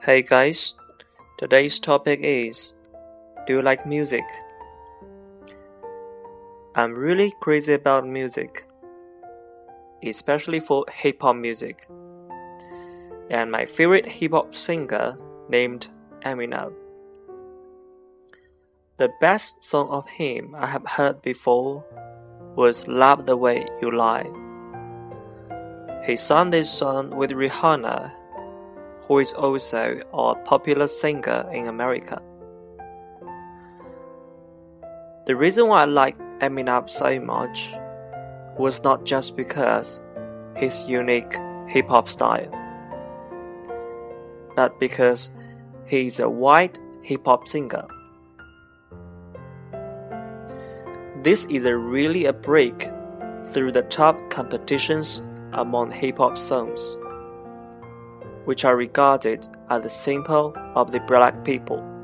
Hey guys, today's topic is, do you like music? I'm really crazy about music, especially for hip-hop music. And my favorite hip-hop singer named Eminem. The best song of him I have heard before was Love the Way You Lie. He sang this song with Rihanna, who is also a popular singer in America. The reason why I like Eminem so much was not just because his unique hip-hop style, but because he is a white hip-hop singer. This is really a break through the top competitions among hip-hop songs, which are regarded as the symbol of the black people.